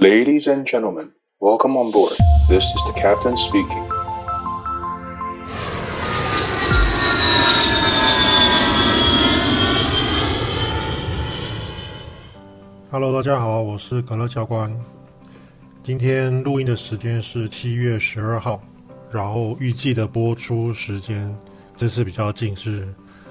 Ladies and gentlemen, welcome on board. This is the captain speaking. Hello， 大家好，我是可樂教官。今天錄音的時間是7月12號，然後預計的播出時間這次比較近，是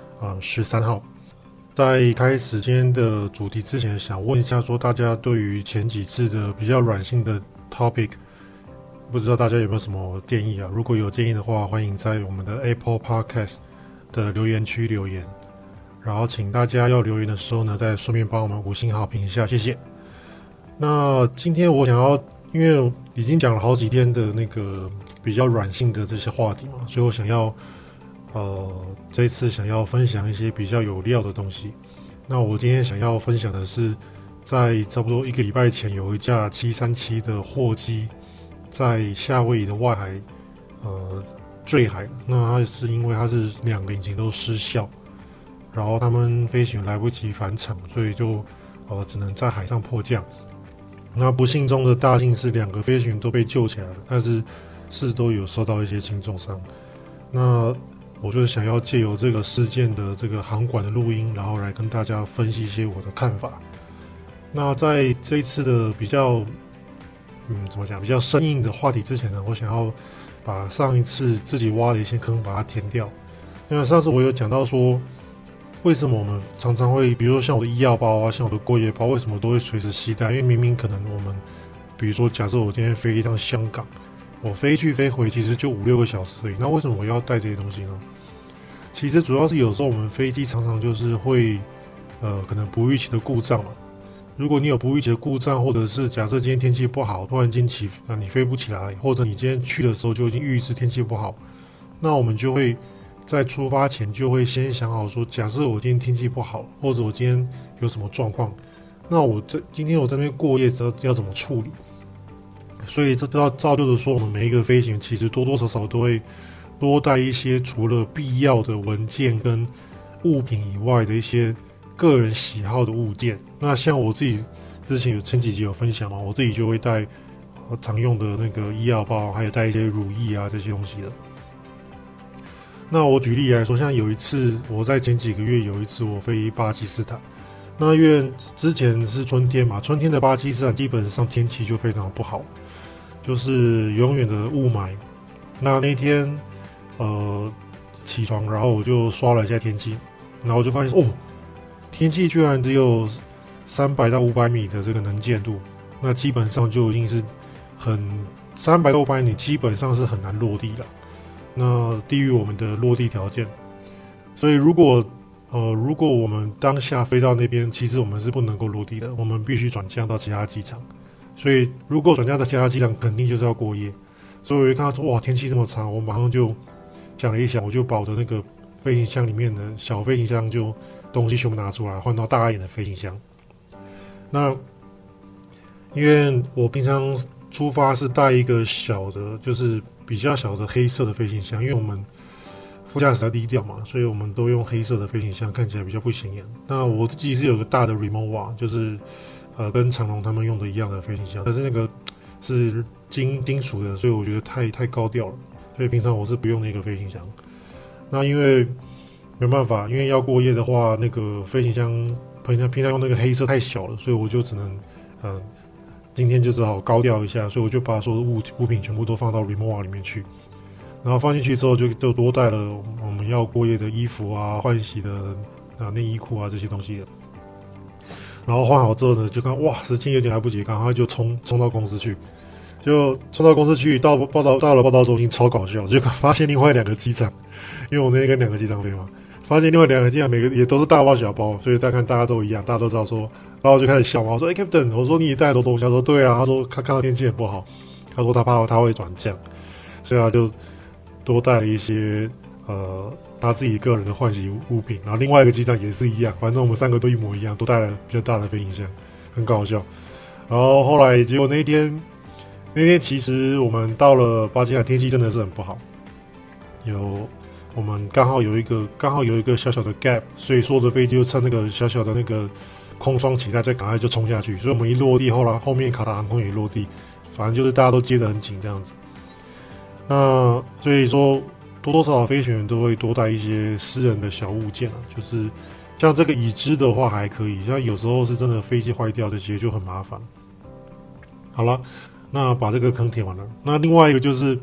13號。在開始今天的主題之前，想問一下，說大家對於前幾次的比較軟性的 topic， 不知道大家有沒有什麼建議啊？如果有建議的話，歡迎在我們的 Apple Podcast 的留言區留言。然後請大家要留言的時候呢，再順便幫我們5星好評一下，謝謝。那今天我想要，因為已經講了好幾天的那個比較軟性的這些話題嘛，所以我想要這一次想要分享一些比較有料的東西。那我今天想要分享的是，在差不多1個禮拜前，有一架737的貨機在夏威夷的外海墜海。那它是因為它是2個引擎都失效，然後他們飛行員來不及返場，所以就只能在海上迫降。那不幸中的大幸是2個飛行員都被救起來了，但是都有受到一些輕重傷。那我就是想要借由這個事件的這個航管的錄音，然後來跟大家分析一些我的看法。那在這一次的比較比較生硬的話題之前呢，我想要把上一次自己挖的一些坑把它填掉。因為上次我有講到說，為什麼我們常常會，比如說像我的醫藥包啊，像我的過夜包，為什麼都會隨時攜帶？因為明明可能我們，比如說假設我今天飛一趟香港，我飛去飛回其實就5-6個小時而已，那為什麼我要帶這些東西呢？其實主要是有時候我們飛機常常就是會可能不預期的故障嘛。如果你有不預期的故障，或者是假設今天天氣不好，突然間你飛不起來，或者你今天去的時候就已經預知天气不好，那我們就會在出發前就會先想好說，假設我今天天氣不好，或者我今天有什麼狀況，那今天我在那邊過夜要怎麼處理？所以這都要造就的說，我們每一個飛行員其實多多少少都會多帶一些除了必要的文件跟物品以外的一些個人喜好的物件。那像我自己之前前幾集有分享嘛，我自己就會帶常用的那個醫藥包，還有帶一些乳液啊這些東西的。那我舉例來說，像有一次我在前幾個月有一次我飛巴基斯坦，那因為之前是春天嘛，春天的巴基斯坦基本上天氣就非常不好，就是永遠的霧霾。那天起床，然後我就刷了一下天气，然後我就發現天氣居然只有300到500米的這個能見度，那基本上就已經是300到500米基本上是很難落地了，那低於我們的落地條件。所以如果我們當下飛到那邊，其實我們是不能夠落地的，我們必須轉降到其他機場。所以如果轉降到其他機场，肯定就是要過夜。所以我一看到說，哇，天氣這麼差，我馬上就想了一想，我就把我的那個飛行箱裡面的小飛行箱就東西全部拿出來，換到大一點的飛行箱。那因為我平常出發是帶一個小的，就是比較小的黑色的飛行箱，因為我們副駕駛要低調嘛，所以我們都用黑色的飞行箱，看起来比較不顯眼。那我自己是有個大的 Rimowa， 就是跟長榮他們用的一樣的飛行箱，但是那個是金屬的，所以我覺得太高調了，所以平常我是不用那個飛行箱。那因為沒辦法，因為要過夜的話，那個飛行箱平常用那個黑色太小了，所以我就只能今天就只好高調一下，所以我就把所有的物品全部都放到 Rimowa 裡面去。然後放進去之後就多帶了我們要過夜的衣服啊、換洗的內衣褲啊這些東西了。然後換好之後呢，就看哇，時間有點來不及，趕快就衝到公司去。就衝到公司去，到了報到中心，超搞笑，就發現另外2個機场，因為我那天跟2個機场飛嘛，發現另外2個機場每個也都是大包小包，所以大家都一樣，大家都知道說，然後我就開始笑嘛，我說Captain， 我說你也帶很多東西，他說對啊，他說他看到天氣很不好，他說他怕他會轉降，所以他就多帶了一些他自己個人的換洗物品，然後另外一個機长也是一樣，反正我們3個都一模一樣，都帶了比較大的飞行箱，很搞笑。然後後來結果那天其實我們到了巴基斯坦，天氣真的是很不好，我們剛好有一個小小的 gap， 所以所有的飛機就趁那個小小的那個空窗期待，再趕快就衝下去。所以我們一落地，後面卡達航空也落地，反正就是大家都接得很緊這樣子。那所以說多多少少飛行員都會多帶一些私人的小物件啊，就是像這個椅子的話還可以，像有時候是真的飛機壞掉這些就很麻煩。好了，那把這個坑填完了。那另外一個就是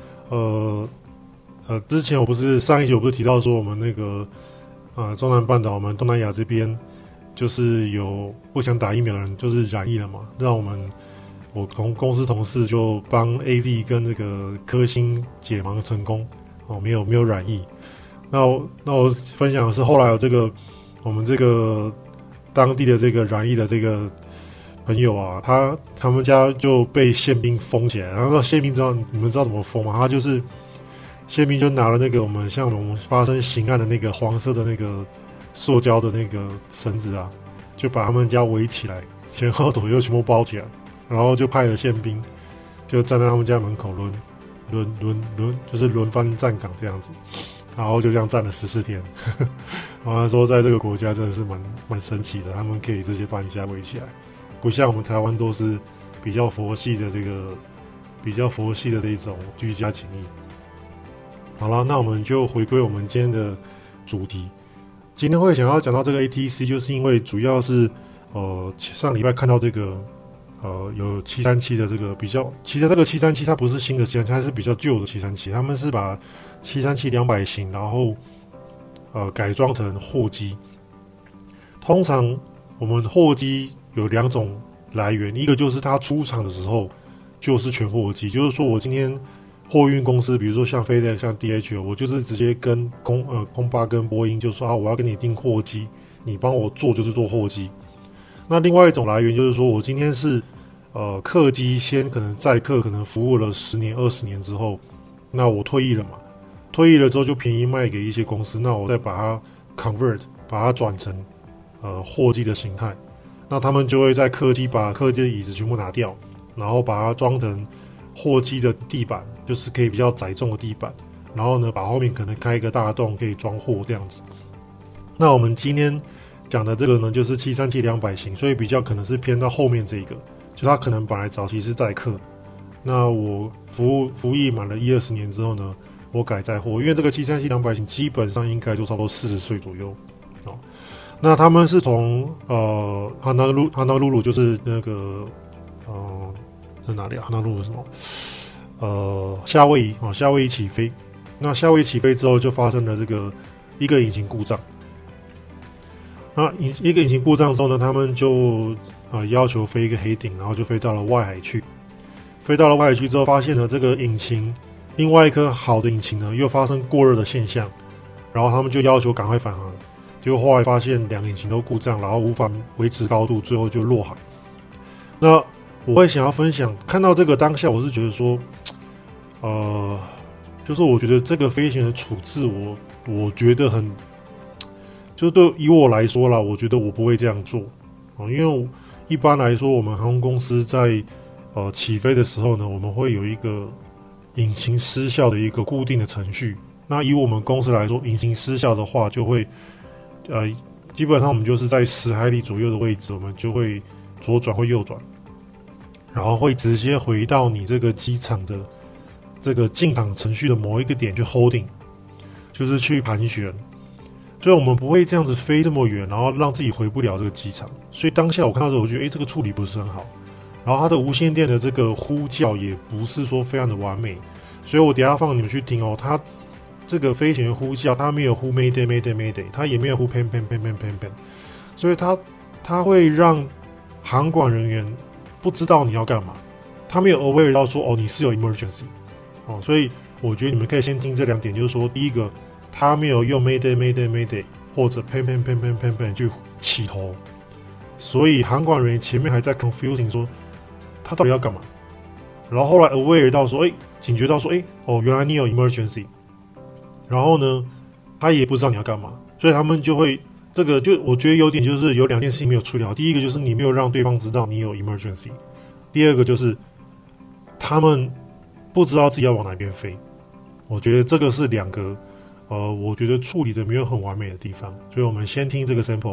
之前上一集我不是提到說我們那個中南半島，我們東南亞這邊就是有不想打疫苗的人就是染疫了嘛，讓我公司同事就幫 AZ 跟那個科興解盲成功哦，沒有染疫。那我分享的是後来有我們這個當地的這個染疫的这個朋友啊，他們家就被憲兵封起来，然後憲兵你們知道怎麼封嗎？他就是憲兵就拿了那個我們發生刑案的那個黃色的那個塑膠的那個繩子啊，就把他們家圍起來，前後左右全部包起來，然後就派了憲兵就站在他們家门口就是輪番站崗這樣子，然後就這樣站了14天。然後他說在這個國家真的是蠻神奇的，他們可以直接把你家圍起來，不像我們台灣都是比較佛系的這種居家檢疫。好了，那我們就回歸我們今天的主題。今天會想要講到這個 ATC， 就是因為主要是上禮拜看到這個有737的這個其實這個737它不是新的737，它是比較舊的737，他們是把737-200型然後改裝成貨機。通常我們貨機有2種來源，一個就是它出廠的時候就是全貨機，就是說我今天貨運公司，比如說像FedEx、像 DHL， 我就是直接跟空巴跟波音就說我要跟你訂貨機，你幫我做就是做貨機。那另外一種來源就是說我今天是客機先可能载客可能服務了10年20年之後，那我退役了嘛，退役了之後就便宜賣給一些公司，那我再把它 convert 把它轉成貨機的形態，那他們就會在把客機的椅子全部拿掉，然後把它裝成貨機的地板，就是可以比較載重的地板，然後呢把後面可能開一個大洞可以裝貨這樣子。那我們今天講的這個呢就是737-200型，所以比較可能是偏到後面这個，就它可能本來早期是載客，那我服役滿了10-20年之後呢，我改載貨，因為這個737-200型基本上應該就差不多40歲左右。那他們是從哈納魯魯就是那個在哪裡啊？哈納魯魯什麼？夏威夷起飛。那夏威夷起飛之後就發生了一個引擎故障。那一個引擎故障之後呢，他們就要求飛一個黑頂，然後就飛到了外海去。飛到了外海去之後，發現了這個引擎另外一顆好的引擎呢又發生過熱的現象，然後他們就要求趕快返航。結果後來發現2個引擎都故障，然後無法維持高度，最後就落海。那我會想要分享，看到這個當下，我是覺得說，就是我覺得這個飛行的處置我覺得就以我來說啦，我覺得我不會這樣做因為一般來說，我們航空公司在起飛的時候呢，我們會有一個引擎失效的一個固定的程序。那以我們公司來說，引擎失效的話，就會基本上我們就是在10海里左右的位置，我們就會左轉或右轉，然後會直接回到你這個機場的這個進場程序的某一個點去 holding， 就是去盤旋。所以我們不會這樣子飛這麼遠，然後讓自己回不了這個機場。所以當下我看到之後，我覺得這個處理不是很好。然後它的無線電的這個呼叫也不是說非常的完美，所以我等一下放你們去聽它這個飛行員呼叫，它沒有呼 Mayday Mayday Mayday， 它也沒有呼 Pan Pan Pan Pan Pan Pan， 所以它會讓航管人員不知道你要幹嘛，他沒有 aware 到說你是有 emergency 所以我覺得你們可以先聽這2點，就是說第一個，他沒有用 Mayday Mayday Mayday 或者 Pan Pan Pan Pan Pan Pan 去起頭，所以航管人員前面還在 confusing 說他到底要幹嘛，然後後來 aware 到說警覺到說原來你有 emergency。然後呢，他也不知道你要幹嘛，所以他們就會我覺得有點就是有2件事情沒有處理好。第一個就是你沒有讓對方知道你有 emergency， 第二個就是他們不知道自己要往哪邊飛。我覺得這個是2個我覺得處理的沒有很完美的地方。所以我們先聽這個 sample，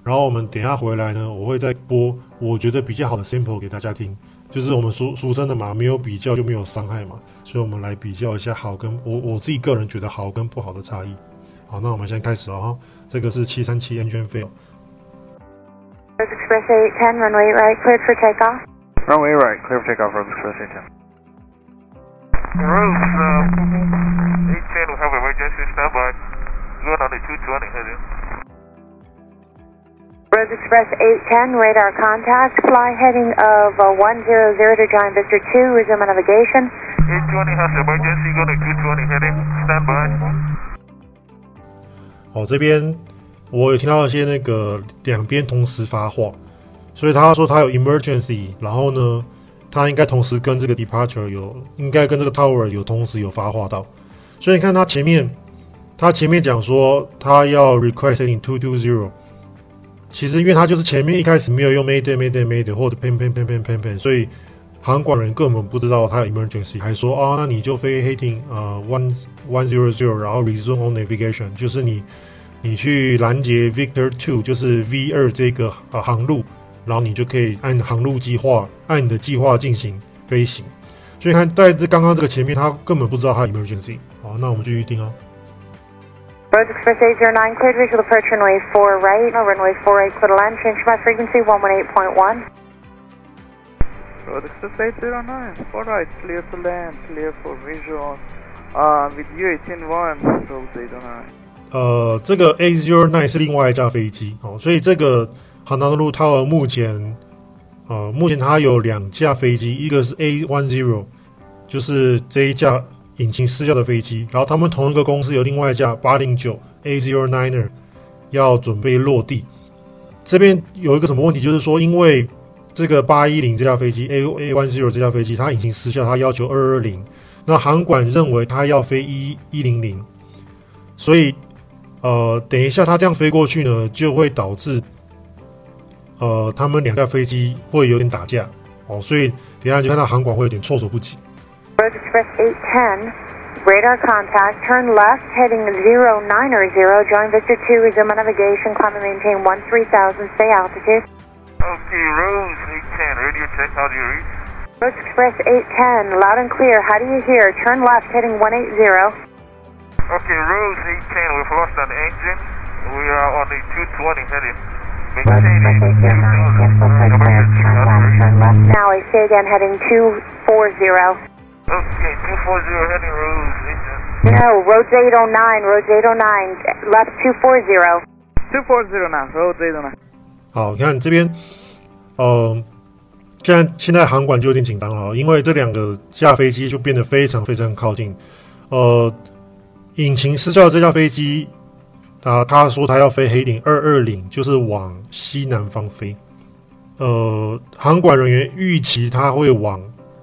然後我們等一下回來呢，我會再播我覺得比較好的 sample 給大家聽，就是我們俗稱的嘛，沒有比較就沒有傷害嘛，所以我們來比較一下好跟我自己個人覺得好跟不好的差異。好，那我們現在開始了哈，這個是737 engine fail。 Express 810, runway right, cleared for takeoff. Runway right, clear for takeoff, Rose Express 810. Rose, 810, we have emergency standby. Going on the 220 heading. Rose Express 810, radar contact, fly heading of 100 to Giant Vista 2, resume navigation. 820 has emergency, going to 220 heading, standby. 哦，这边我有听到一些那个两边同时发话，所以他说他有 emergency， 然后呢，他应该同时跟这个 departure 应该跟这个 tower 同时有发话到，所以你看他前面讲说他要 request heading 220， 其實因為他就是前面一開始沒有用 mayday 或者 pan， 所以航管人根本不知道他有 emergency， 還說哦，那你就飛 heading 100，然後 resume on navigation， 就是你去攔截 Victor 2， 就是 V2 這個航路，然後你就可以按航路計劃，按你的計劃進行飛行。所以看在這剛剛這個前面，他根本不知道他有 emergency。好，那我們繼續聽啊。 Rose Express 809, cleared visual approach runway 4 right, runway 4 right, clear to land, change my frequency 118.1. Rose Express 809, 4 right, clear to land, clear for visual, with U181, Rose 809. 這個 809 是另外一架飛機哦，所以這個Honolulu Tower 目前它有兩架飛機，一個是 A10， 就是這一架引擎失效的飛機，然後他們同一個公司有另外一架809 A09er 要準備落地。這邊有一個什麼問題，就是說因為這個810這架飛機 A10 這架飛機它引擎失效，它要求220，那航管認為它要飛100，所以等一下它這樣飛過去呢，就會導致他們兩架飛機會有點打架哦，所以等一下就看到航管會有點措手不及。 Rose Express 810, radar contact, turn left, heading 090, join Vista 2, resume navigation, climb and maintain 13,000, stay altitude. Okay, Rose 810, radio check, how do you read? Rose Express 810, loud and clear, how do you hear? Turn left, heading 180. Okay, Rose 810, we've lost an engine. We are on the 220 heading. Now I say again, heading 240. Okay, 240 heading Rose 810. No, roads 809, roads 809, left 240. 240 now, Rose 809. 好，你看這邊，現在航管就有點緊張了，因為這兩個架飛機就變得非常非常靠近。引擎失效的這架飛機，他說他要飛黑領220，就是往西南方飛。航管人員預期他會往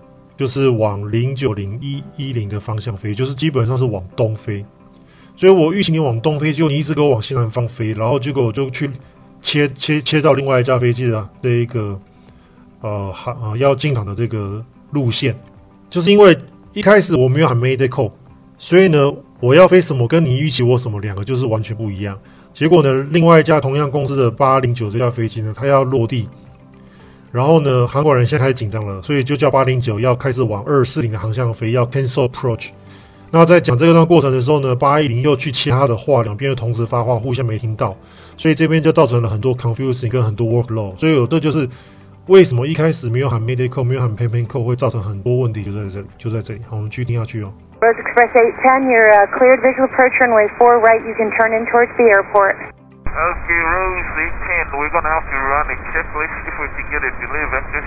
09010的方向飛，就是基本上是往東飛。所以我預期你往東飛，結果你一直給我往西南方飛，然後結果我就去切到另外一架飛機的這一個要進場的這個路線，就是因為一開始我沒有喊 Mayday call， 所以呢我要飛什麼跟你預期我什麼兩個就是完全不一樣。結果呢另外一架同樣公司的809這架飛機呢，它要落地，然後呢航管人現在開始緊張了，所以就叫809要開始往240的航向飛，要 cancel approach。那在講這個段過程的時候呢，810又去切他的話，兩邊又同時發話，互相沒聽到，所以這邊就造成了很多 confusing 跟很多 workload。所以這就是為什麼一開始沒有喊 Mayday call， 沒有喊 Pan call 會造成很多問題，就在這裡。好，我們繼續聽下去哦。 Rose Express 810, you're cleared visual approach runway 4 right, you can turn in towards the airport. Okay, Rose 810, we're going to have to run a checklist if we can get a delay vector.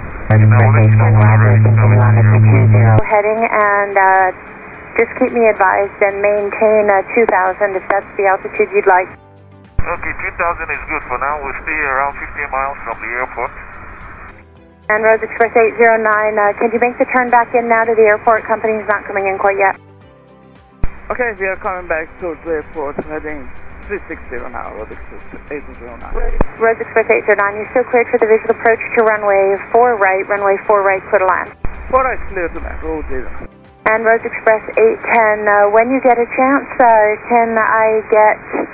Heading and just keep me advised and maintain 2,000 if that's the altitude you'd like. Okay, 2,000 is good for now. We'll stay around 15 miles from the airport. And Rose Express 809, can you make the turn back in now to the airport? Company's not coming in quite yet. Okay, we are coming back towards the airport, heading 360 now, Rose Express 809. Rose Express 809, you're still cleared for the visual approach to runway 4 right, clear to land. 4 right, clear to land, Rose 809. And Rose Express 810, when you get a chance, can I get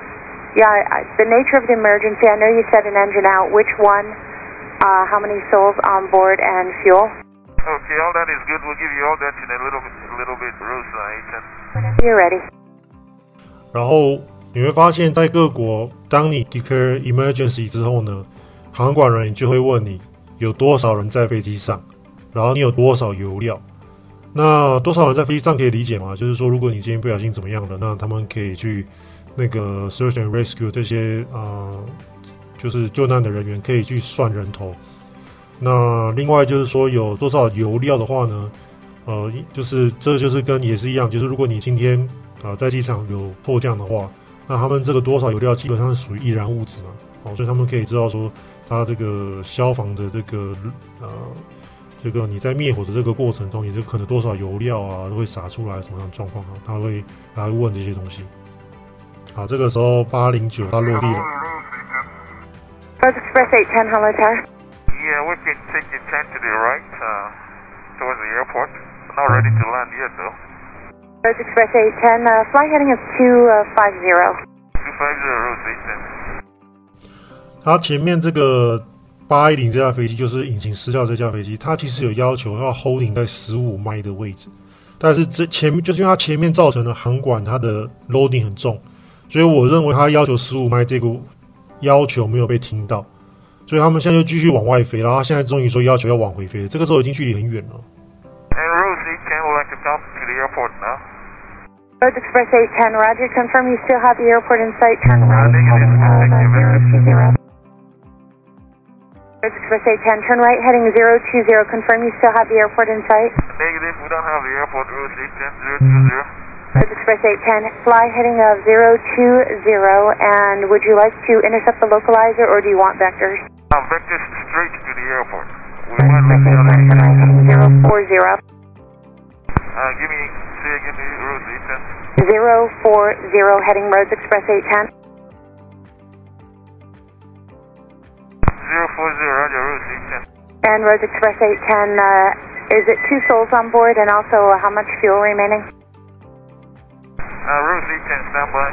Yeah, the nature of the emergency, I know you said an engine out. Which one? How many souls on board and fuel? Okay, all that is good. We'll give you all that in a little bit, Rosa 810. You're ready. 然后你会發現在各國，當你 declare emergency 之後呢，航管人員就會問你有多少人在飛機上，然後你有多少油料。那多少人在飛機上可以理解嗎？就是說，如果你今天不小心怎麼樣了，那他們可以去那個 search and rescue 這些就是救難的人員可以去算人頭。那另外就是說有多少油料的話呢？就是這就是跟也是一樣，就是如果你今天在機場有迫降的話，那他們這個多少油料基本上是屬於易燃物質嘛，所以他們可以知道說它這個消防的這個你在滅火的這個過程中，你這可能多少油料啊都會灑出來什麼樣的狀況啊，他會問這些東西。好，這個時候809它落地了。 Rose Express 810, hello tower. Yeah, we can take the 10 to the right, towards the airport. Not ready to land yet, though. Rose Express 810, flight heading is 250. 250, Rose 810. 它前面這個810這架飛機就是引擎失效這架飛機，它其實有要求要 holding 在15邁的位置，但是這前面就是因為它前面造成了航管它的 loading 很重，所以我認為它要求15邁這個要求沒有被聽到，所以他們現在就繼續往外飛，然後他現在終於說要求要往回飛，這個時候已經距離很遠了。 And Rose 810 would like to come to the airport now. Rose Express 810, Roger. Confirm you still have the airport in sight. Turn right. Negative. Rose Express 810, turn right, heading 020. Confirm you still have the airport in sight. Negative, we don't have the airport, Rose 810, 020. Rose Express 810, fly heading 020. And would you like to intercept the localizer or do you want vectors? Vectors straight to the airport. We might let the other 040. Say again, Rose 810. 040, heading Rose Express 810. 040, Roger, Rose 810. And Rose Express 810, is it 2 souls on board and also how much fuel remaining? Rose 810, stand by.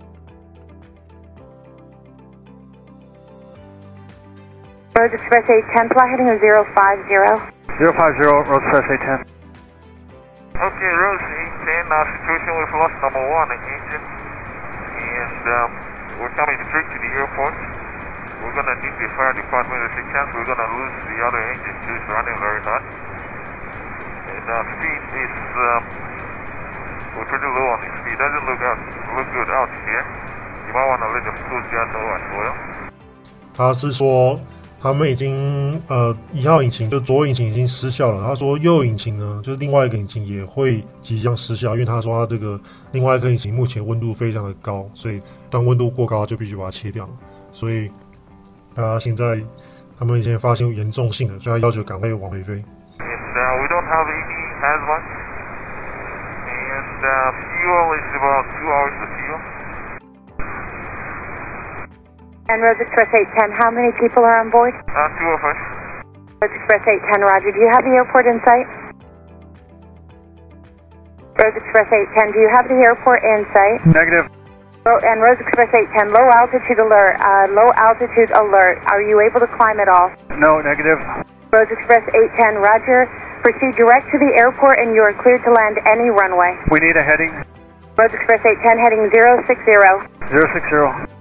Rose Express 810, fly heading 050. 050, Rose Express 810. Okay, Rose 810, situation with loss number 1, engine. And we're coming straight to the airport. We're going to need the fire department assistance. We're going to lose the other engine too. It's running very hot. And speed is, we're pretty low on the speed. Doesn't look good out here. You might want to let the Coast Guard know as well. 他是說他們已經1號引擎就左引擎已經失效了。他說右引擎呢，就是另外一個引擎也會即將失效，因為他說他這個另外一個引擎目前溫度非常的高，所以當溫度過高就必須把它切掉了。所以現在他們已經發現嚴重性了，所以他要求趕快往回飛。 And we don't have any hazmat. And fuel is about 2 hours of fuel. And Rose Express 810, how many people are on board? 2 of us. Rose Express 810, Roger. Do you have the airport in sight? Rose Express 810, do you have the airport in sight? Negative. And Rose Express 810, low altitude alert. Low altitude alert. Are you able to climb at all? No, negative. Rose Express 810, Roger. Proceed direct to the airport and you are cleared to land any runway. We need a heading. Rose Express 810, heading 060. 060.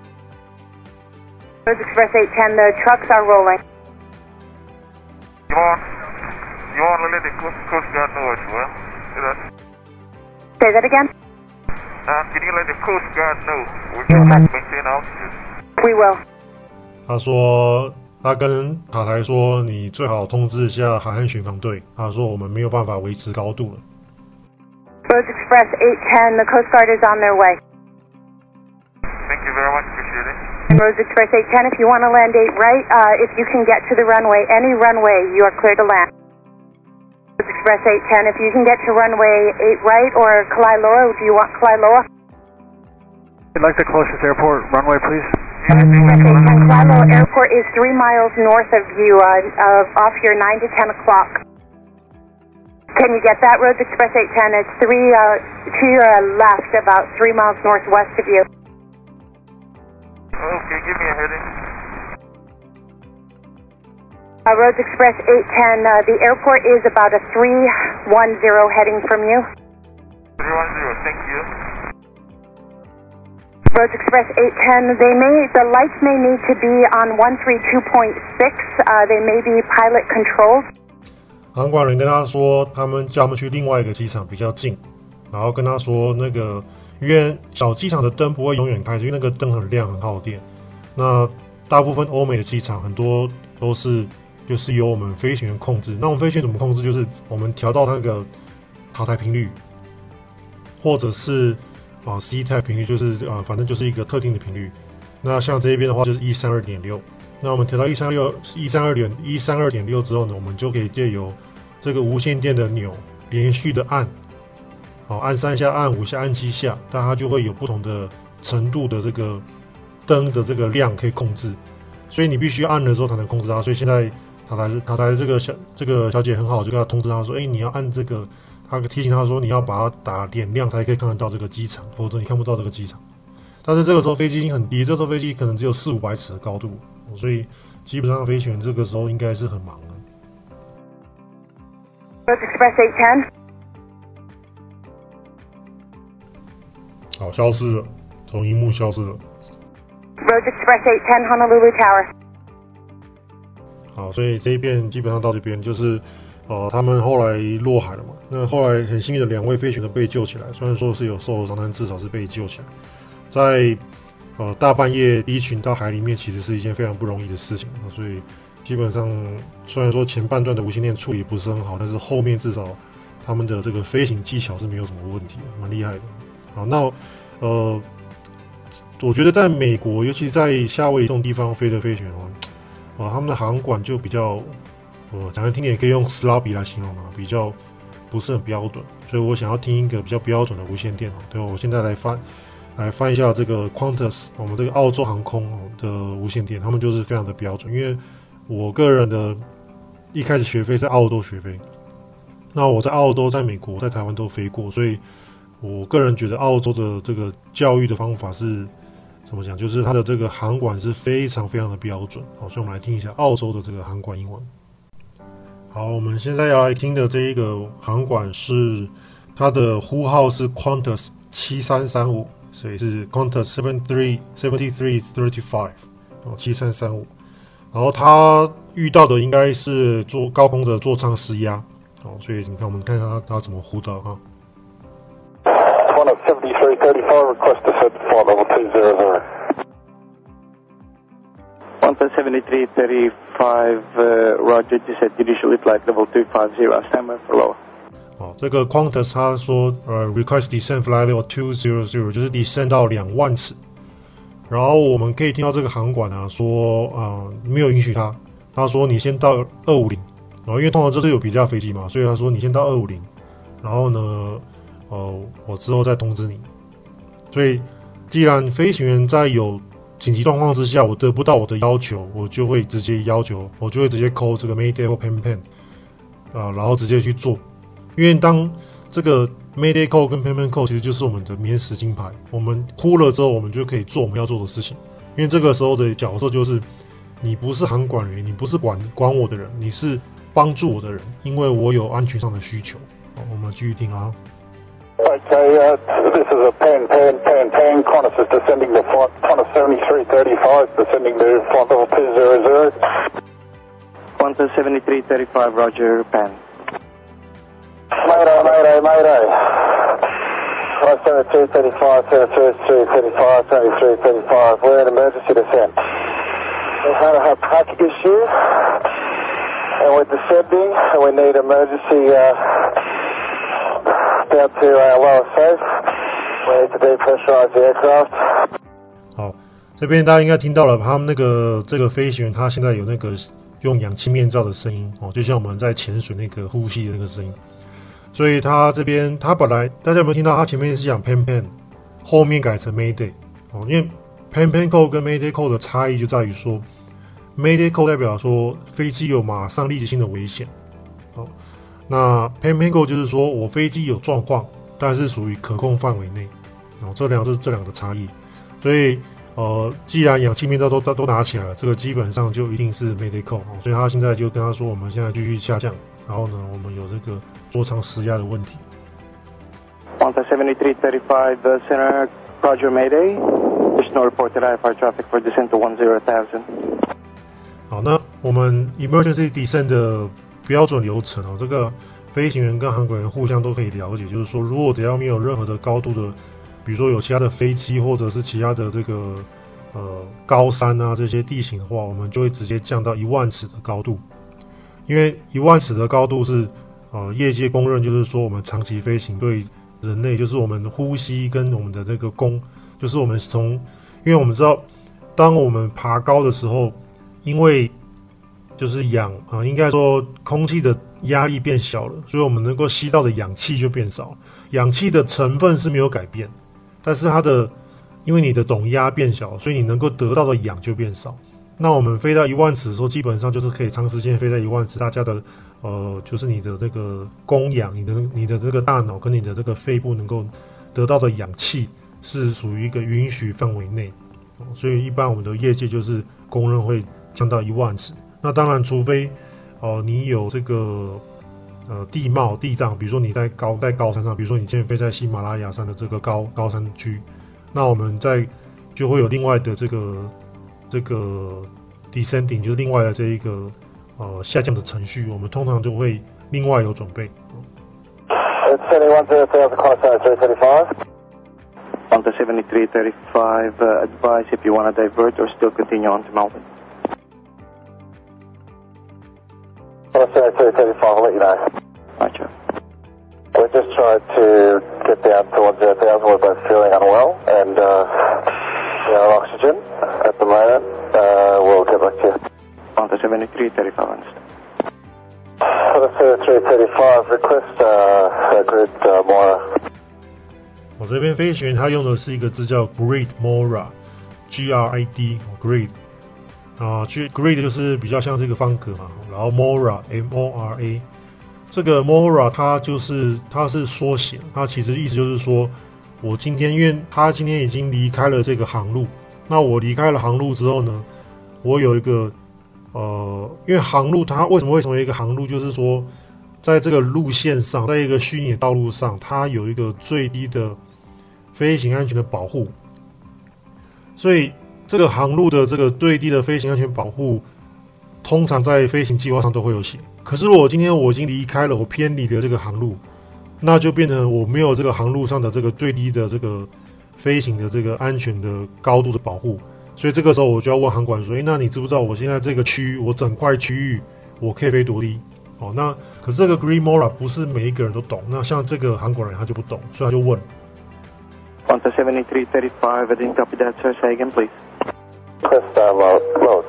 Rose Express 810, the trucks are rolling. You want to let the Coast Guard know as well? Say that again? Can you let the Coast Guard know we cannot maintain altitude? We will. 他说他跟塔台說，你最好通知一下海岸巡防队。他說我們沒有辦法維持高度了。 Rose Express 810, the Coast Guard is on their way. Thank you very much, appreciate it. And Rose Express 810, if you want to land 8 right, if you can get to the runway, any runway, you are clear to land. Rose Express 810, if you can get to runway 8 right or Kalaeloa, do you want Kalaeloa? I'd like the closest airport runway, please. Kalaeloa Airport is 3 miles north of you, off your 9 to 10 o'clock. Can you get that, Rose Express 810? It's to your left, about 3 miles northwest of you. Okay, give me a heading. Rhodes Express 810, the airport is about a 310 heading from you. 310, thank you. Rhodes Express 810, the lights may need to be on 132.6, they may be pilot controlled. 航管人跟他说，他们叫他们去另外一个机场比较近，然后跟他说那个，因为小机场的灯不会永遠開，因為那個燈很亮很耗電。那大部分歐美的機場很多都是就是由我們飛行員控制。那我們飛行員怎麼控制？就是我們調到那個塔台頻率，或者是C type 頻率，就是反正就是一個特定的頻率。那像這邊的話就是 132.6。那我們調到132.6之後呢，我們就可以借由這個無線電的鈕連續的按，按3下、按5下、按7下，但它就會有不同的程度的這個燈的這個亮可以控制，所以你必須按的時候才能控制它。所以現在塔台這個小姐很好，就跟他通知他說，你要按這個，他提醒他說你要把它打點亮才可以看得到這個機場，否則你看不到這個機場。但是這個時候飛機已經很低，這時候飛機可能只有400-500尺的高度，所以基本上飛行員這個時候應該是很忙的。 Rhodes Express 810。 好，消失了，從螢幕消失了。 Rhodes Express 810 Honolulu Tower。 好，所以這一遍基本上到這邊就是他們後來落海了嘛。那後來很幸運的2位飛行員被救起來，雖然說是有受傷，但至少是被救起來。在大半夜一群到海裡面，其實是一件非常不容易的事情，所以基本上雖然說前半段的無線電處理不是很好，但是後面至少他們的這個飛行技巧是沒有什麼問題的，蠻厲害的。好，那我覺得在美國，尤其在夏威夷這種地方飛的飛行員他們的航管就比較講來聽點也可以用 sloppy 來形容嘛，比較不是很標準，所以我想要聽一個比較標準的無線電。對，我現在來翻一下這個 Qantas 我們這個澳洲航空的無線電，他們就是非常的標準。因為我個人的一開始學飛在澳洲學飛，那我在澳洲、在美國、在台灣都飛過，所以我個人覺得澳洲的這個教育的方法是怎麼講，就是它的這個航管是非常非常的標準。好，所以我們來聽一下澳洲的這個航管英文。好，我們現在要來聽的這一個航管是它的呼號是 Qantas 7335。所以是 Qantas 7335 7335，然後他遇到的應該是做高空的座艙失壓，所以你看我們看一下他怎麼呼到哈。 Qantas 7335 request descent for level 200. Qantas 7335 Roger descent initially flight level 250 standby for lower. 這個 Qantas 他說request descent flight level 200，就是 descent 到20000尺。然後我們可以聽到這個航管說沒有允許他，他說你先到250，然後因為通常這是有比價飛機嘛，所以他說你先到250，然後呢我之後再通知你。所以既然飛行員在有緊急狀況之下，我得不到我的要求，我就會直接 call 這個 Mayday 或 Pan-Pan 然後直接去做。因為當這個 Mayday Call 跟 Pan-Pan Call 其實就是我們的免死金牌，我們呼了之後，我們就可以做我們要做的事情。因為這個時候的角色就是你不是航管員，你不是管我的人，你是幫助我的人，因為我有安全上的需求。好，我們繼續聽啊。 Okay, this is a Pan. Qantas is descending to flight. Qantas 7335 descending to flight level 200. Qantas 7335, Roger, Pan. Mayday. 7335, 7335. We're in emergency descent. We had a pack issue, and we're descending, and we need emergency down to lower safe. We need to depressurize the aircraft. 好，這邊大家應該聽到了，他們這個飛行員他現在有那個用氧氣面罩的聲音就像我們在潛水那個呼吸的那個聲音。所以他這邊他本來大家有沒有聽到他前面是講 Pan-Pan， 後面改成 Mayday 因為 Pan-Pan Call 跟 Mayday Call 的差異就在於說 Mayday Call 代表說飛機有馬上立即性的危險，那 Pan-Pan Call 就是說我飛機有狀況，但是屬於可控範圍內，這兩個差異。所以既然氧氣面罩都拿起來了，這個基本上就一定是 Medical，所以他現在就跟他說，我們現在繼續下降，然後呢，我們有这个座艙失壓的問題。 Delta 7335 Center, Roger Mayday. Additional reported IFR traffic for descent to 10,000. 好，那我們 Emergency Descent 的標準流程哦，這個飛行員跟航管員互相都可以了解，就是說，如果只要沒有任何的高度的，比如說有其他的飛機或者是其他的這個高山啊這些地形的話，我們就會直接降到1萬尺的高度，因為1萬尺的高度是業界公認，就是說我們長期飛行對人類，就是我們呼吸跟我們的這個就是我們因為我們知道，當我們爬高的時候，因為就是應該說空氣的壓力變小了，所以我們能夠吸到的氧氣就變少，氧氣的成分是沒有改變，但是因為你的總壓變小，所以你能夠得到的氧就變少。那我們飛到1萬尺的時候，基本上就是可以長時間飛在1萬尺，大家的就是你的這個供氧，你的這個大腦跟你的這個肺部能夠得到的氧氣是屬於一個允許範圍內，所以一般我們的業界就是公認會降到1萬尺。那當然，除非你有這個地貌地障，比如說你在高山上，比如說你現在飛在喜馬拉雅山的這個高山區，那我們就會有另外的這個 descending， 就是另外的這一個下降的程序，我們通常就會另外有準備。 Delta 7335, advise if you want to divert or still continue on to Melbourne. Delta 7335, I'll let you know. Roger. We're just trying to get down to 10,000. We're both feeling unwell and no oxygen at the moment. We'll get back to you. Delta 7335, understood. Delta 7335, request grid Mora. 我这邊飛行員他用的是一個字叫 Grid Mora， G-R-I-D Grid Grid 就是比較像是一個方格嘛，然後 Mora M-O-R-A 這個 Mora 它是縮寫，它其實意思就是說我今天因為他今天已經離開了這個航路，那我離開了航路之後呢，我有一個因為航路它為什麼會成為一個航路，就是說在這個路線上，在一個虛擬的道路上，它有一個最低的飛行安全的保護，所以這個航路的這個最低的飛行安全保護，通常在飛行計劃上都會有寫。可是如果今天我已經離開了，我偏離了這個航路，那就變成我沒有這個航路上的這個最低的這個飛行的這個安全的高度的保護，所以這個時候我就要問航管說：那你知不知道我現在這個區域，我整塊區域我可以飛多低？那可是這個 Grid Mora 不是每一個人都懂，那像這個航管人他就不懂，所以他就問。 Delta 7335, I didn't copy that, sir. Say again, please. Request loads.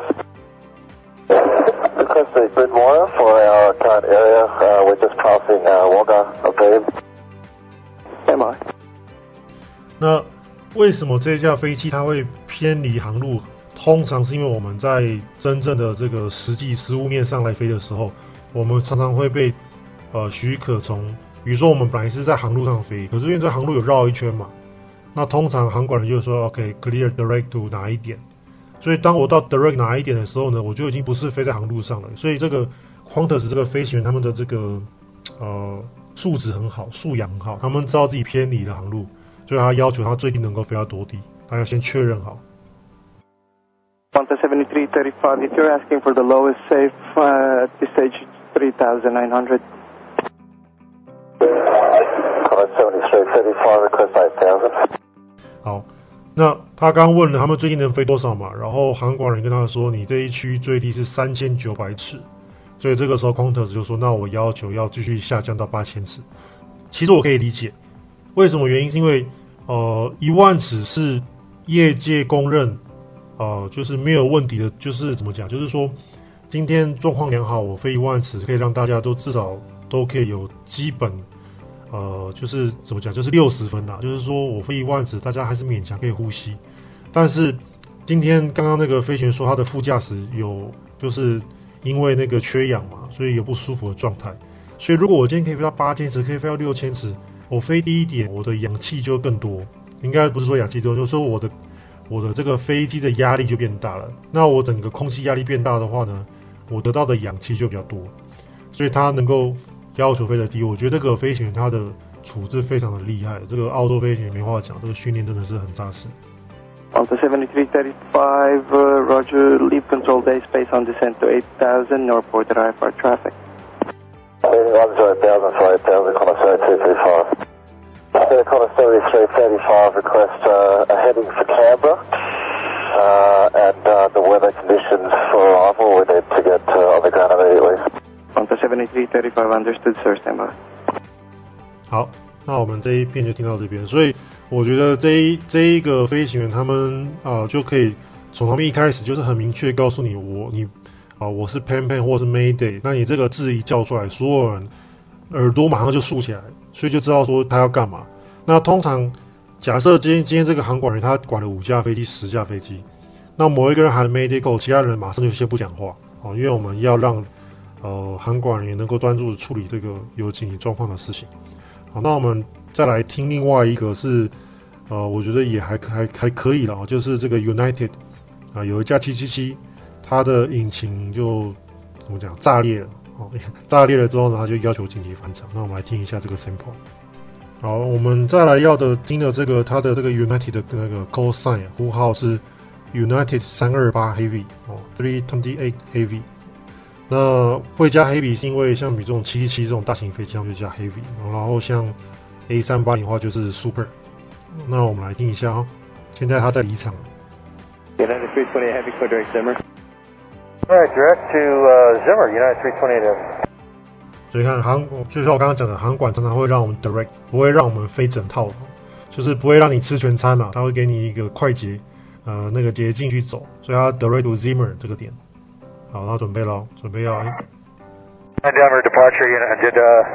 Request the Grid Mora for our current area. We're just passing Wagga, okay. MI. 那為什麼這架飛機它會偏離航路？通常是因為我們在真正的這個實務面上來飛的時候，我們常常會被許可從，比如說我們本來是在航路上飛，可是因為這航路有繞一圈嘛，那通常航管人就說 OK clear direct to 哪一點，所以當我到 direct 哪一點的時候呢，我就已經不是飛在航路上了，所以這個 Qantas 這個飛行員他們的這個素質很好，素養很好，他們知道自己偏離了航路，所以他要求他最低能夠飛到多低，他要先確認好。 Delta 7335, if you're asking for the lowest safe at this stage, 3,900. Delta 7335, request 8,000. 好，那他剛問了他們最低能飛多少嘛，然後航管人跟他說，你這一區最低是3900尺，所以這個時候 Qantas 就說，那我要求要繼續下降到8000尺。其實我可以理解，為什麼原因是因為1萬尺是業界公認。就是沒有問題的，就是怎麼講？就是說，今天狀況良好，我飛1萬尺可以讓大家都至少都可以有基本，就是怎麼講？就是60分啦。就是說我飛1萬尺，大家還是勉強可以呼吸。但是今天剛剛那個飛行員說，他的副駕駛有就是因為那個缺氧嘛，所以有不舒服的狀態。所以如果我今天可以飛到8000尺，可以飛到6000尺，我飛低一點，我的氧氣就更多。應該不是說氧氣多，就是說我的我的這個飛機的壓力就變大了。那我整個空氣壓力變大的話呢，我得到的氧氣就比較多，所以它能夠要求飛得低。我覺得這個飛行員他的處置非常的厲害，這個澳洲飛行員沒話講，這個訓練真的是很扎實。 Delta 7335, Roger, leave control day space on descent to 8000, no reported IFR traffic. 1080 for 8000, Connor 7235. Connor 7335, request a heading for Canberra, and the weather conditions for arrival, we need to get on the ground immediately. Delta 7335, understood, sir, stand by. 好，那我们这一片就听到这边，所以我觉得这一个飞行员他们就可以从他们一開始就是很明確告訴你我是 Pan 或是 Mayday， 那你這個字一叫出來，所有人耳朵馬上就豎起來，所以就知道說他要幹嘛。那通常假設今天這個航管員他管了5架飛機、10架飛機，那某一個人喊 Mayday Go， 其他人馬上就先不講話因為我們要讓航管員能夠專注處理這個有緊急狀況的事情。好，那我們再來聽另外一個是我覺得也還可以了，就是這個 United 有一架777，它的引擎就怎麼講炸裂了炸裂了之後呢，它就要求緊急返場。那我們來聽一下這個 sample。好，我們再來要的聽的這個它的這個 United 的那個 call sign 呼號是 United 328 Heavy 328 Heavy。那會加 Heavy 是因為像比這種777這種大型飛機，它們就加 Heavy， 然後像 A380 的話就是 Super。那我們來聽一下現在它在離場。 United 328 Heavy, clear direct Zimmer. Alright, direct to Zimmer, United 328 Heavy. 所以看就像我剛剛講的，航管常常會讓我們 direct， 不會讓我們飛整套的，就是不會讓你吃全餐啦，它會給你一個快捷那個捷徑去走，所以它 direct to Zimmer 這個點。好，他準備了，準備要。 Denver departure unit. Did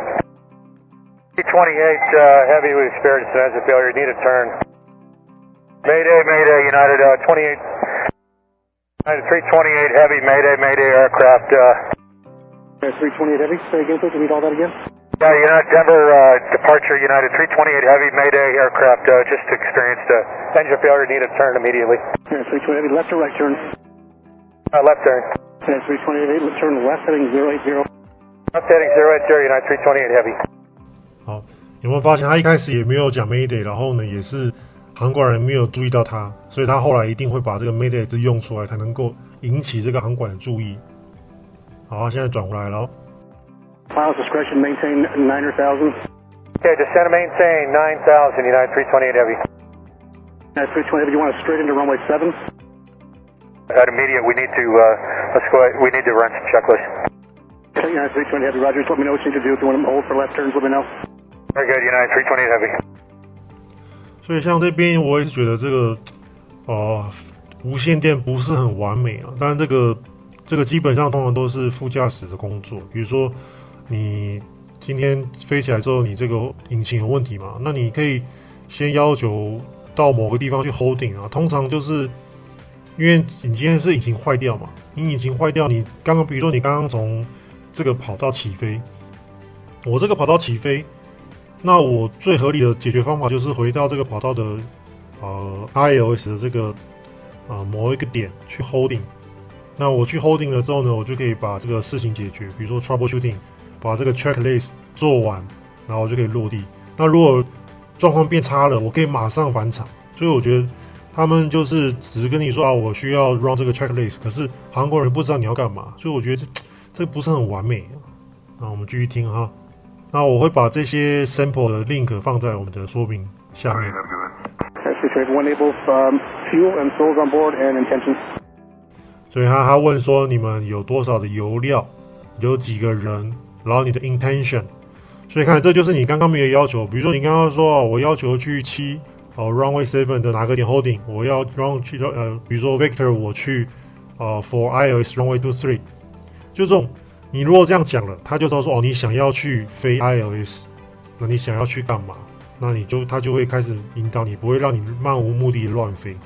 C-28 Heavy, we experienced an engine failure. Need a turn. Mayday, Mayday, United 28. United 328 Heavy, Mayday, Mayday aircraft. 328 Heavy, say again, please. Read all that again. Yeah, United Denver departure. United 328 Heavy, Mayday aircraft. Just experienced engine failure. Need a turn immediately. 328 Heavy, left or right turn? Left turn. 328 Heavy, turn left heading 080. Left heading 080, United 328 Heavy. 好，有沒有發現他一開始也沒有講 Mayday， 然後呢也是航管人沒有注意到他，所以他後來一定會把這個 Mayday 字用出來，才能夠引起這個航管的注意。好，現在轉回來了。 Pilot's discretion, maintain 9,000. Okay, descend and maintain 9,000, United 328 Heavy. United 328 Heavy, you want us straight into runway 7? At immediate, we need to let's go. We need to run some checklists. Okay, United 328 Heavy, Roger. Just let me know what you need to do. If you want to hold for left turns, let me know. Very good, United 328 Heavy. 所以像這邊我也是覺得這個無線電不是很完美啊，當然這個基本上通常都是副駕駛的工作，比如說你今天飛起來之後，你這個引擎有問題嘛，那你可以先要求到某個地方去 holding 啊，通常就是因為你今天是引擎壞掉嘛，你引擎壞掉，你剛剛比如說你剛剛從這個跑道起飛，我這個跑道起飛，那我最合理的解決方法就是回到這個跑道的ILS 的這個某一個點去 holding。那我去 holding 了之後呢，我就可以把這個事情解決，比如說 troubleshooting， 把這個 checklist 做完，然後我就可以落地。那如果狀況變差了，我可以馬上返場。所以我覺得他們就是只是跟你說我需要 run 這個 checklist， 可是韓國人不知道你要幹嘛，所以我覺得這不是很完美。那我們繼續聽哈。那我會把這些 sample 的 link 放在我們的說明下面。所以他問說你們有多少的油料，有幾個人，然後你的 intention。所以看這就是你剛剛沒有要求，比如說你剛剛說我要求去runway 7的哪個點 holding， 我要 run 去比如說 Victor 我去for ILS runway 23， 就這種你如果這樣講了，他就知道說你想要去飛 ILS， 那你想要去幹嘛？那他就會開始引導你，不會讓你漫無目的的亂飛。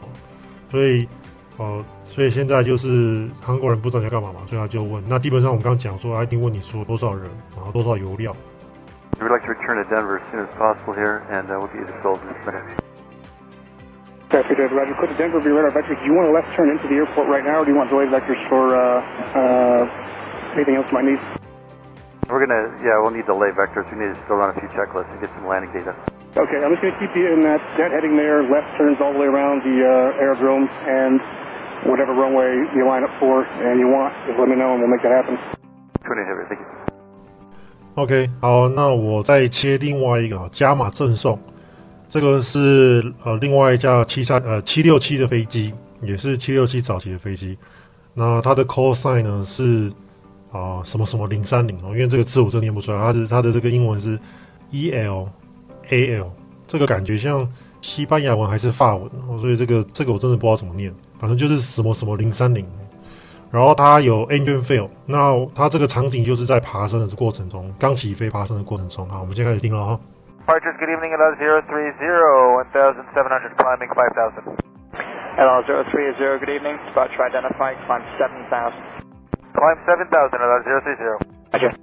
所以現在就是韓國人不知道你要幹嘛嘛，所以他就問。那基本上我們剛剛講說，他一定問你說多少人，然後多少油料。 We'd like to return to Denver as soon as possible here, and we'll get you the souls in this minute. Traffic Roger, clear to Denver, be radar vectors. Do you want a left turn into the airport right now, or do you want delayed vectors for anything else you might need? We'll need delay vectors. We need to still run a few checklists and get some landing data. Okay, I'm just going to keep you in that heading there, left turns all the way around the aerodrome, and whatever runway you line up for and you want, just let me know and we'll make that happen. 20 heavy, thank you. OK， 好，那我再切另外一个加码赠送，这个是另外一架767的飞机，也是767早期的飛機。那它的 call sign 呢是什麼什麼030哦，因為這個字我真的念不出來，它的這個英文是 ELAL， 這個感覺像西班牙文還是法文哦，所以這個我真的不知道怎麼念，反正就是什麼什麼030。然後它有 engine fail， 那它這個場景就是在爬升的過程中，剛起飛爬升的過程中。好，我們現在開始聽了哈。 Departures, good evening, LL 030, 1700 climbing 5000. LL 030, good evening, departure identified, climb 7000. Climb 7000, LL 030. Roger.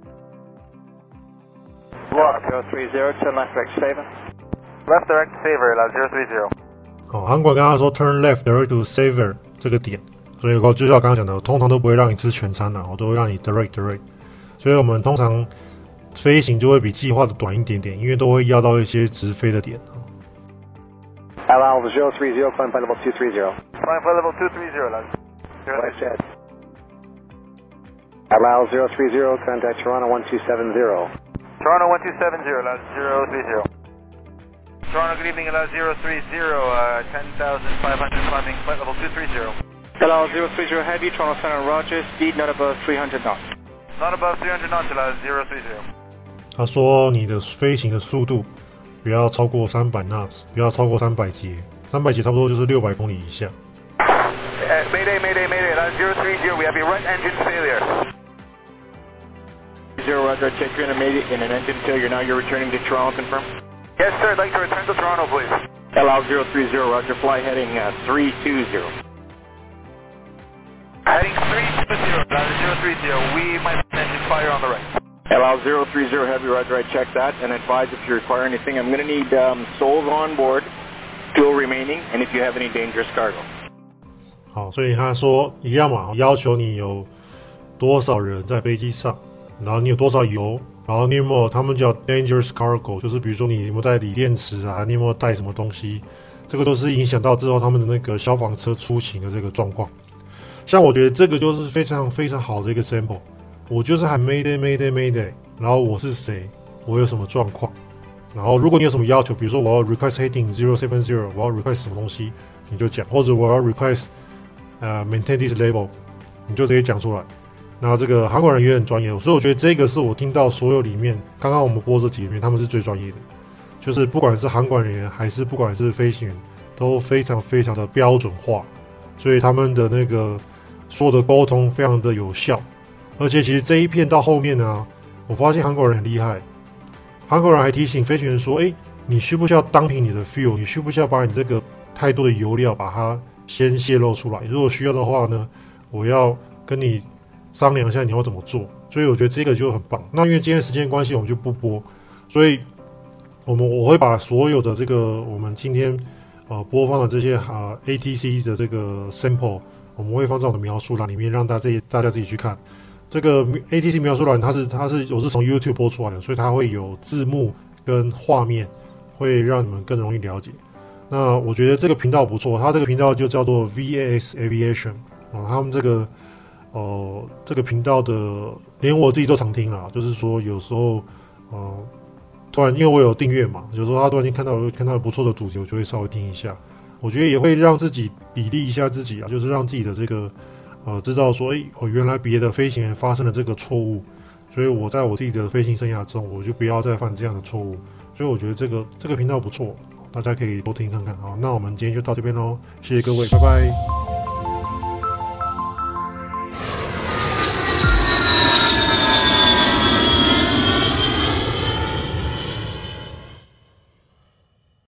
Block 030, turn left direct favor. Left direct favor, LL 030. 好，航管跟他說 turn left direct to Savor 這個點。所以就像我剛剛講的，通常都不會讓你吃全餐的，我都會讓你 direct。所以我們通常飛行就會比計劃的短一點點，因為都會要到一些直飛的點。 LL 030, climb flight level 230. Climb flight level 230, LL 030. LL 030, contact Toronto 1270. Toronto 1270, LL 030. Toronto, good evening, LL 030, 10,500 climbing flight level 230. LL 030 Heavy, Toronto Center, Roger, speed not above 300 knots. Not above 300 knots, LL 030. 他說你的飛行的速度不要超過300 knots， 不要超過300節，300節差不多就是600公里以下。 Mayday, LL 030, we have a right engine failure. 0 Roger, check you're in an engine failure. Now you're returning to Toronto, confirm? Yes, sir, I'd like to return to Toronto, please. LL 030, Roger, fly heading 320. Heading 320, LL 030, we might have engine fire on the right. LL 030 Heavy, Roger, I checked that and advise if you require anything. I'm going to need souls on board, fuel remaining, and if you have any dangerous cargo. 好，所以他說一樣嘛，要求你有多少人在飛機上，然後你有多少油，然後你有沒有他們叫 dangerous cargo， 就是比如說你有沒有帶鋰電池啊，你有沒有帶什麼東西，這個都是影響到之後他們的那個消防車出勤的這個狀況。像我覺得這個就是非常非常好的一個 sample， 我就是喊 Mayday， 然後我是誰，我有什麼狀況，然後如果你有什麼要求，比如說我要 request heading 070， 我要 request 什麼東西，你就講，或者我要 request maintain this level， 你就直接講出來。那這個航管人員很專業，所以我覺得這個是我聽到所有裡面，剛剛我們播這幾裡面，他們是最專業的，就是不管是航管人員還是不管是飛行員，都非常非常的標準化，所以他們的那個所有的溝通非常的有效。而且其實這一片到後面呢，我發現航管人很厲害，航管人還提醒飛行員說：“你需不需要dumping你的 fuel？ 你需不需要把你這個太多的油料把它先洩露出來？如果需要的話呢，我要跟你商量一下你要怎麼做。”所以我覺得這個就很棒。那因為今天時間關係，我們就不播，所以我會把所有的這個我們今天播放的這些ATC 的這個 sample， 我們會放在我的描述欄裡面，讓大家自己去看。這個 ATC 描述欄我是從 YouTube 播出來的，所以它會有字幕跟畫面，會讓你們更容易了解。那我覺得這個頻道不錯，它這個頻道就叫做 VAS Aviation 他們這個頻道的連我自己都常聽啦，就是說有時候突然因為我有訂閱嘛，有時候他突然間看到不錯的主題，我就會稍微聽一下。我覺得也會讓自己砥礪一下自己啊，就是讓自己的這個知道說原來別的飛行員發生了這個錯誤，所以我在我自己的飛行生涯中，我就不要再犯這樣的錯誤。所以我覺得這個頻道不錯，大家可以多聽看看。好，那我們今天就到這邊咯，謝謝各位，拜拜。